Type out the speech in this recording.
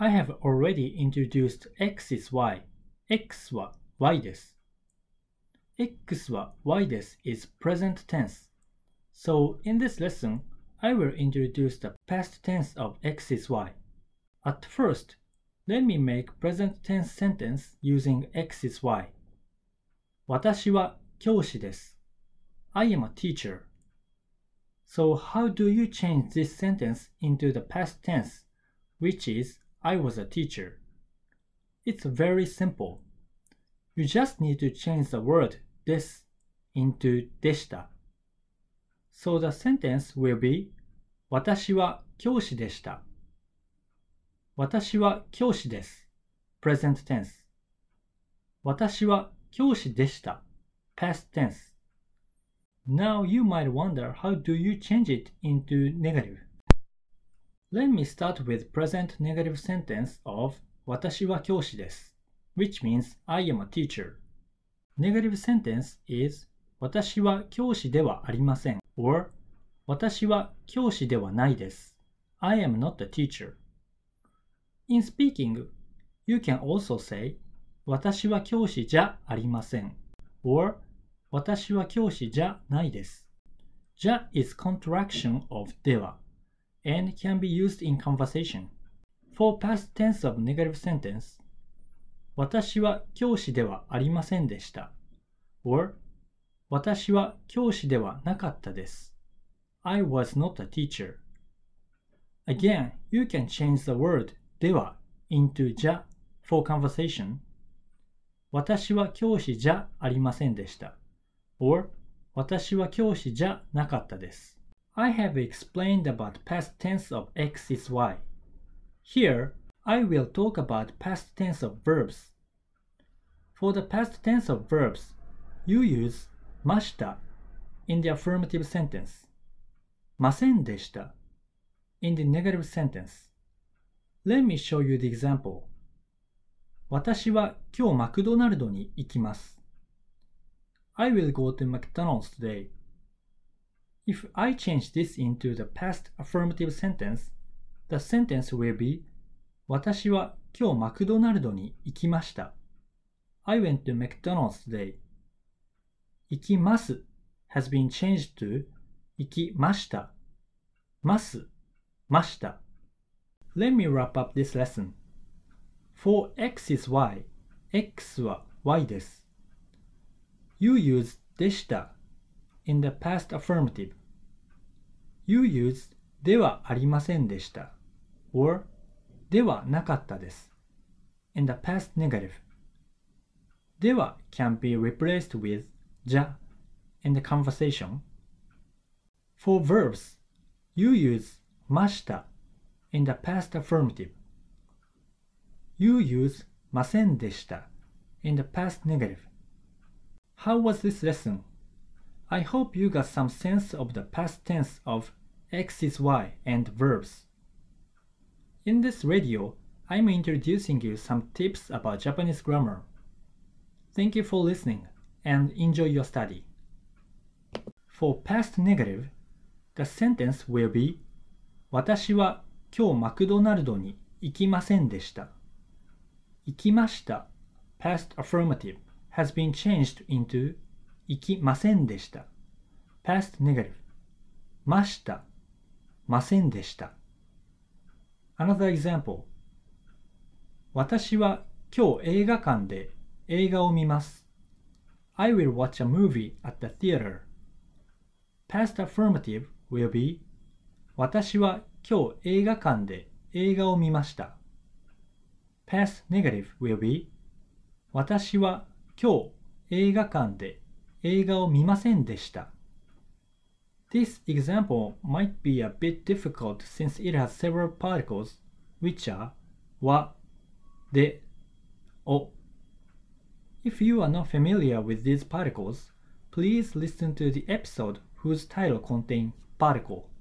I have already introduced x is y. x は y です。x は y です is present tense. So in this lesson, I will introduce the past tense of x is y. At first, let me make present tense sentence using x is y. 私は教師です。I am a teacher. So how do you change this sentence into the past tense, which is I was a teacher? It's very simple. You just need to change the word です into でした。So the sentence will be 私は教師でした。私は教師です。present tense. 私は教師でした。past tense. Now you might wonder how do you change it into negative. Let me start with present negative sentence of 私は教師です which means I am a teacher. Negative sentence is 私は教師ではありません or 私は教師ではないです I am not a teacher. In speaking, you can also say 私は教師じゃありません or 私は教師じゃないです じゃ is contraction of では and can be used in conversation. For past tense of negative sentence, 私は教師ではありませんでした or 私は教師ではなかったです I was not a teacher. Again, you can change the word では into じゃ for conversation. 私は教師じゃありませんでした or 私は教師じゃなかったです I have explained about past tense of x is y. Here, I will talk about past tense of verbs. For the past tense of verbs, you use ました in the affirmative sentence, ませんでした in the negative sentence. Let me show you the example. 私は今日マクドナルドに行きます。I will go to McDonald's today. If I change this into the past affirmative sentence, the sentence will be 私は今日マクドナルドに行きました。I went to McDonald's today. 行きます has been changed to 行きました。ます、ました。Let me wrap up this lesson. For x is y, x は y です。You use でした in the past affirmative. You use ではありませんでした or ではなかったです in the past negative. では can be replaced with じゃ in the conversation. For verbs, you use ました in the past affirmative. You use ませんでした in the past negative. How was this lesson? I hope you got some sense of the past tense of x is y and verbs. In this radio, I'm introducing you some tips about Japanese grammar. Thank you for listening and enjoy your study. For past negative, the sentence will be 私は今日マクドナルドに行きませんでした。行きました past affirmative has been changed into 行きませんでした past negative ましたませんでした Another example 私は今日映画館で映画を見ます I will watch a movie at the theater. Past affirmative will be 私は今日映画館で映画を見ました Past negative will be 私は今日映画館で映画を見ませんでした This example might be a bit difficult since it has several particles which are は、で、お If you are not familiar with these particles, please listen to the episode whose title contains particle.